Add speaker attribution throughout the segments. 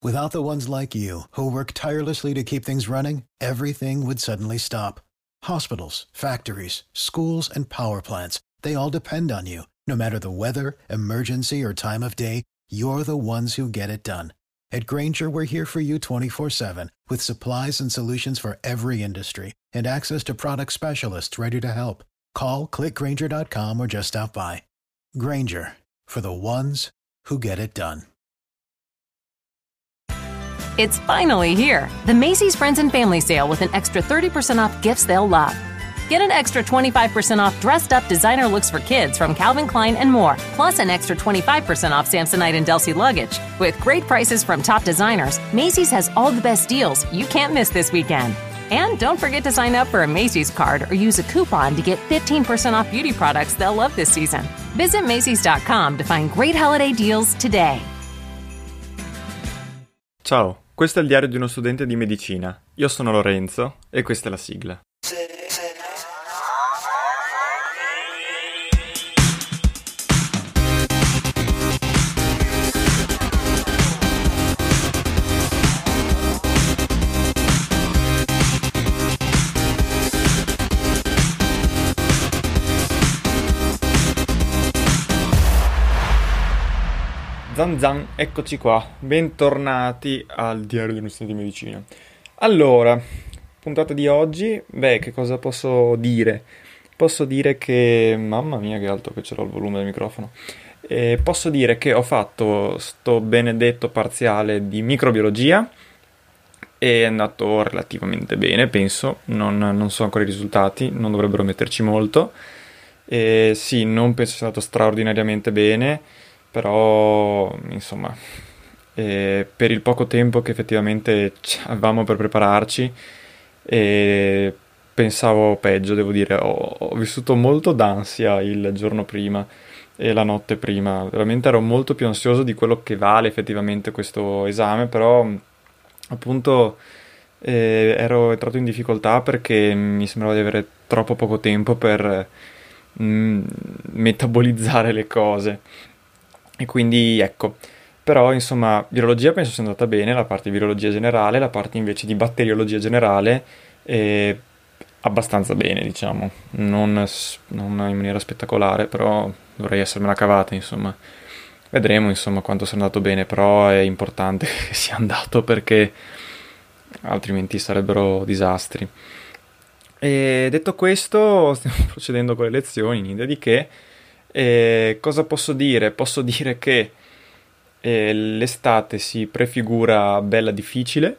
Speaker 1: Without the ones like you, who work tirelessly to keep things running, everything would suddenly stop. Hospitals, factories, schools, and power plants, they all depend on you. No matter the weather, emergency, or time of day, you're the ones who get it done. At Grainger, we're here for you 24/7, with supplies and solutions for every industry, and access to product specialists ready to help. Call, click Grainger.com, or just stop by. Grainger, for the ones who get it done.
Speaker 2: It's finally here, the Macy's Friends and Family Sale with an extra 30% off gifts they'll love. Get an extra 25% off dressed-up designer looks for kids from Calvin Klein and more, plus an extra 25% off Samsonite and Delsey luggage. With great prices from top designers, Macy's has all the best deals you can't miss this weekend. And don't forget to sign up for a Macy's card or use a coupon to get 15% off beauty products they'll love this season. Visit Macys.com to find great holiday deals today.
Speaker 3: Ciao, questo è il diario di uno studente di medicina. Io sono Lorenzo e questa è la sigla. Zan zan, eccoci qua, bentornati al diario di uno studente di medicina. Allora, puntata di oggi, che cosa posso dire? Posso dire che, mamma mia che alto che ce l'ho il volume del microfono, posso dire che ho fatto sto benedetto parziale di microbiologia, è andato relativamente bene, penso, non so ancora i risultati, non dovrebbero metterci molto, sì, non penso sia stato straordinariamente bene, però insomma per il poco tempo che effettivamente avevamo per prepararci pensavo peggio, devo dire. Ho vissuto molto d'ansia il giorno prima e la notte prima, veramente ero molto più ansioso di quello che vale effettivamente questo esame, però appunto ero entrato in difficoltà perché mi sembrava di avere troppo poco tempo per metabolizzare le cose. E quindi ecco, però insomma virologia penso sia andata bene, la parte di virologia generale, la parte invece di batteriologia generale abbastanza bene, diciamo, non in maniera spettacolare, però dovrei essermela cavata, insomma. Vedremo insomma quanto sia andato bene, però è importante che sia andato perché altrimenti sarebbero disastri. E detto questo, stiamo procedendo con le lezioni, niente di che. Cosa posso dire? Posso dire che l'estate si prefigura bella difficile,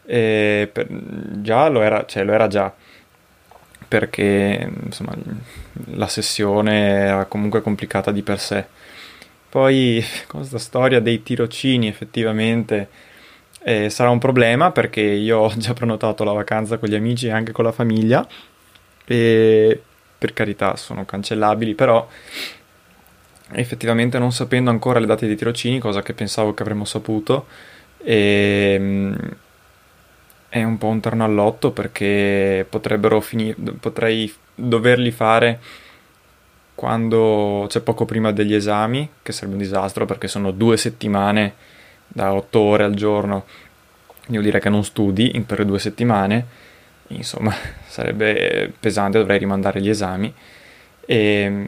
Speaker 3: già lo era già, perché insomma la sessione era comunque complicata di per sé. Poi questa storia dei tirocini effettivamente sarà un problema, perché io ho già prenotato la vacanza con gli amici e anche con la famiglia, e per carità sono cancellabili, però effettivamente non sapendo ancora le date dei tirocini, cosa che pensavo che avremmo saputo, è un po' un terno all'otto, perché potrei doverli fare quando c'è poco prima degli esami, che sarebbe un disastro perché sono 2 settimane da 8 ore al giorno, devo dire che non studi per 2 settimane, insomma sarebbe pesante, dovrei rimandare gli esami e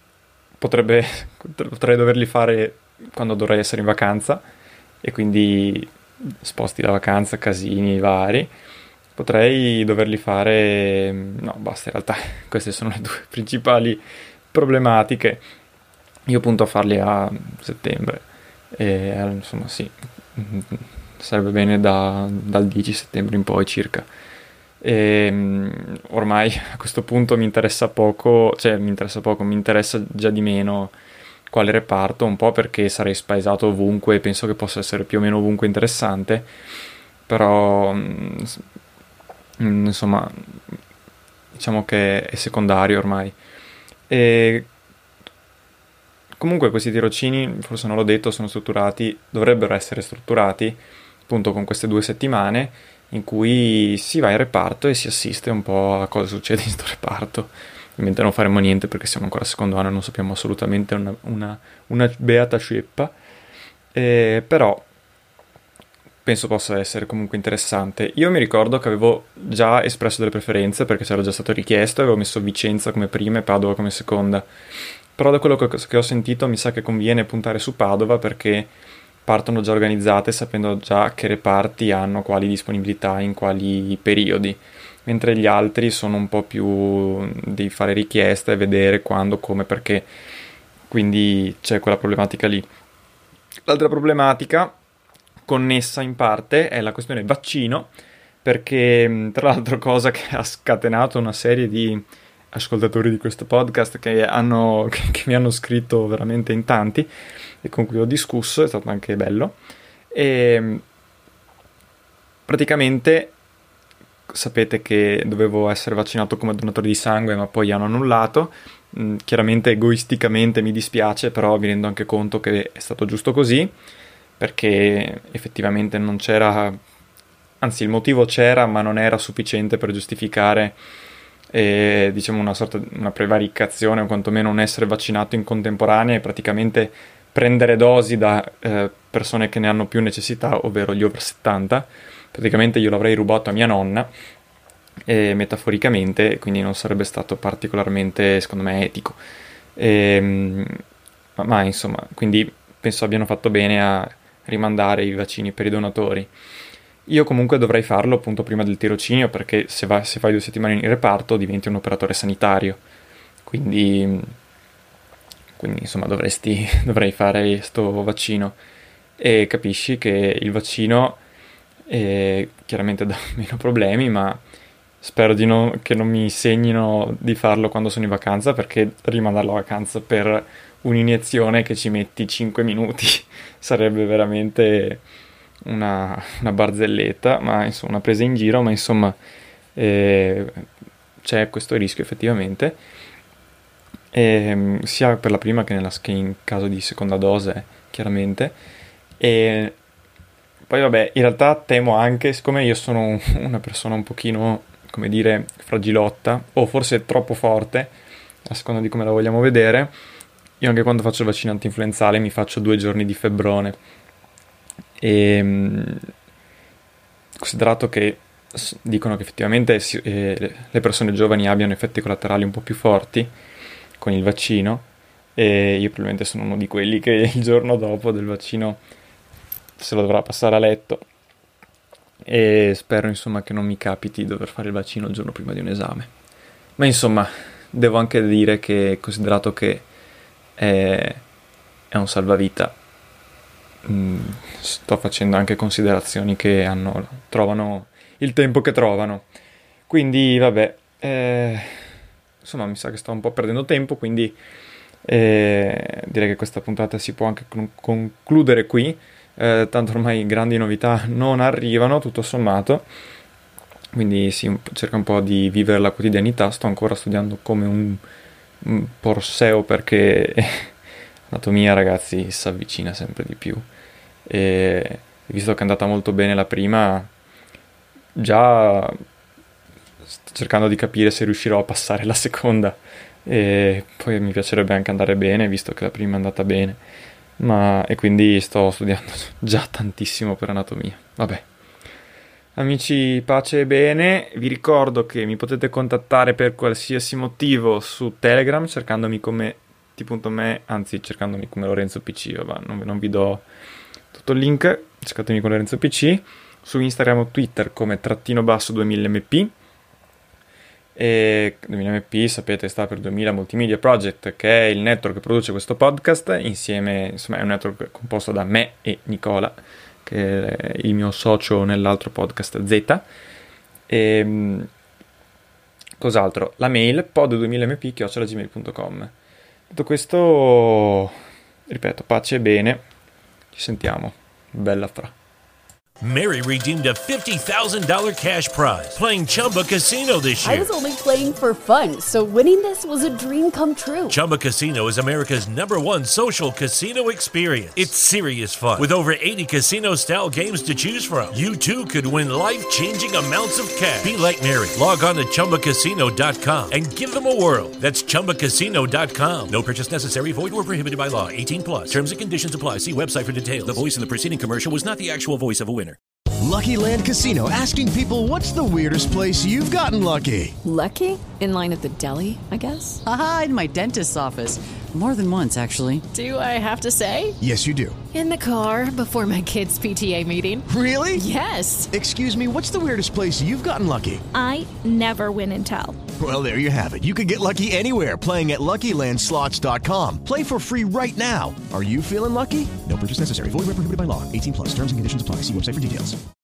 Speaker 3: potrei doverli fare quando dovrei essere in vacanza, e quindi sposti da vacanza, casini vari. Potrei doverli fare, no basta, in realtà queste sono le 2 principali problematiche. Io punto a farli a settembre e insomma sì, sarebbe bene dal 10 settembre in poi circa. Ormai a questo punto mi interessa già di meno quale reparto, un po' perché sarei spaesato ovunque e penso che possa essere più o meno ovunque interessante, però insomma diciamo che è secondario ormai. E comunque questi tirocini, forse non l'ho detto, dovrebbero essere strutturati appunto con queste 2 settimane in cui si va in reparto e si assiste un po' a cosa succede in questo reparto. Ovviamente non faremo niente perché siamo ancora al secondo anno e non sappiamo assolutamente una beata ceppa, però penso possa essere comunque interessante. Io mi ricordo che avevo già espresso delle preferenze perché c'era già stato richiesto, avevo messo Vicenza come prima e Padova come seconda. Però da quello che ho sentito mi sa che conviene puntare su Padova perché partono già organizzate sapendo già che reparti hanno quali disponibilità in quali periodi, mentre gli altri sono un po' più di fare richiesta e vedere quando, come, perché, quindi c'è quella problematica lì. L'altra problematica connessa in parte è la questione vaccino, perché tra l'altro cosa che ha scatenato una serie di ascoltatori di questo podcast che mi hanno scritto veramente in tanti e con cui ho discusso, è stato anche bello. E praticamente sapete che dovevo essere vaccinato come donatore di sangue, ma poi hanno annullato. Chiaramente egoisticamente mi dispiace, però mi rendo anche conto che è stato giusto così, perché effettivamente non c'era, anzi il motivo c'era, ma non era sufficiente per giustificare diciamo una prevaricazione o quantomeno un essere vaccinato in contemporanea e praticamente prendere dosi da persone che ne hanno più necessità, ovvero gli over 70. Praticamente io l'avrei rubato a mia nonna, metaforicamente, quindi non sarebbe stato particolarmente, secondo me, etico. Ma insomma, quindi penso abbiano fatto bene a rimandare i vaccini per i donatori. Io comunque dovrei farlo appunto prima del tirocinio, perché se fai 2 settimane in reparto diventi un operatore sanitario, quindi insomma dovrei fare sto vaccino, e capisci che il vaccino chiaramente dà meno problemi, ma spero che non mi segnino di farlo quando sono in vacanza, perché rimandare la vacanza per un'iniezione che ci metti 5 minuti sarebbe veramente una barzelletta, ma insomma una presa in giro, ma insomma c'è questo rischio effettivamente, sia per la prima che in caso di seconda dose, chiaramente. E poi vabbè, in realtà temo anche, siccome io sono una persona un pochino, come dire, fragilotta, o forse troppo forte, a seconda di come la vogliamo vedere, io anche quando faccio il vaccino antinfluenzale mi faccio 2 giorni di febbrone. E considerato che dicono che effettivamente le persone giovani abbiano effetti collaterali un po' più forti con il vaccino, e io probabilmente sono uno di quelli che il giorno dopo del vaccino se lo dovrà passare a letto, e spero insomma che non mi capiti dover fare il vaccino il giorno prima di un esame. Ma insomma devo anche dire che, considerato che è un salvavita, sto facendo anche considerazioni che trovano il tempo che trovano, quindi vabbè, insomma mi sa che sto un po' perdendo tempo, quindi direi che questa puntata si può anche concludere qui. Tanto ormai grandi novità non arrivano, tutto sommato, quindi cerca un po' di vivere la quotidianità. Sto ancora studiando come un porseo, perché l'anatomia, ragazzi, si avvicina sempre di più, e visto che è andata molto bene la prima, già sto cercando di capire se riuscirò a passare la seconda, e poi mi piacerebbe anche andare bene, visto che la prima è andata bene, e quindi sto studiando già tantissimo per anatomia. Vabbè, amici, pace e bene. Vi ricordo che mi potete contattare per qualsiasi motivo su Telegram, cercandomi come t.me, anzi cercandomi come Lorenzo PC, non vi do tutto il link, cercatemi con Lorenzo PC, su Instagram o Twitter come _2000mp, e 2000mp sapete sta per 2000 Multimedia Project, che è il network che produce questo podcast insieme, insomma è un network composto da me e Nicola, che è il mio socio nell'altro podcast Z. E cos'altro? La mail pod2000mp@gmail.com. Detto questo, ripeto, pace e bene, ci sentiamo, bella fra.
Speaker 4: Mary redeemed a $50,000 cash prize playing Chumba Casino this year.
Speaker 5: I was only playing for fun, so winning this was a dream come true.
Speaker 4: Chumba Casino is America's #1 social casino experience. It's serious fun. With over 80 casino-style games to choose from, you too could win life-changing amounts of cash. Be like Mary. Log on to ChumbaCasino.com and give them a whirl. That's ChumbaCasino.com. No purchase necessary. Void where prohibited by law. 18+. Terms and conditions apply. See website for details. The voice in the preceding commercial was not the actual voice of a winner.
Speaker 6: Lucky Land Casino, asking people, what's the weirdest place you've gotten lucky?
Speaker 5: Lucky? In line at the deli, I guess?
Speaker 7: Aha, in my dentist's office. More than once, actually.
Speaker 5: Do I have to say?
Speaker 6: Yes, you do.
Speaker 5: In the car before my kids' PTA meeting.
Speaker 6: Really?
Speaker 5: Yes.
Speaker 6: Excuse me, what's the weirdest place you've gotten lucky?
Speaker 8: I never win and tell.
Speaker 6: Well, there you have it. You can get lucky anywhere, playing at LuckyLandSlots.com. Play for free right now. Are you feeling lucky? No purchase necessary. Void where prohibited by law. 18 plus. Terms and conditions apply. See website for details.